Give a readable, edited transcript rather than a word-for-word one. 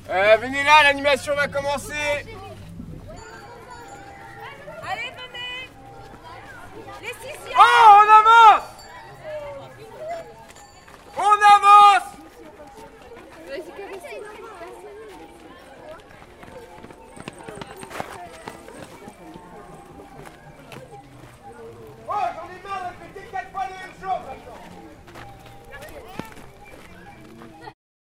Venez là, l'animation va commencer. Allez, venez. Les 6e.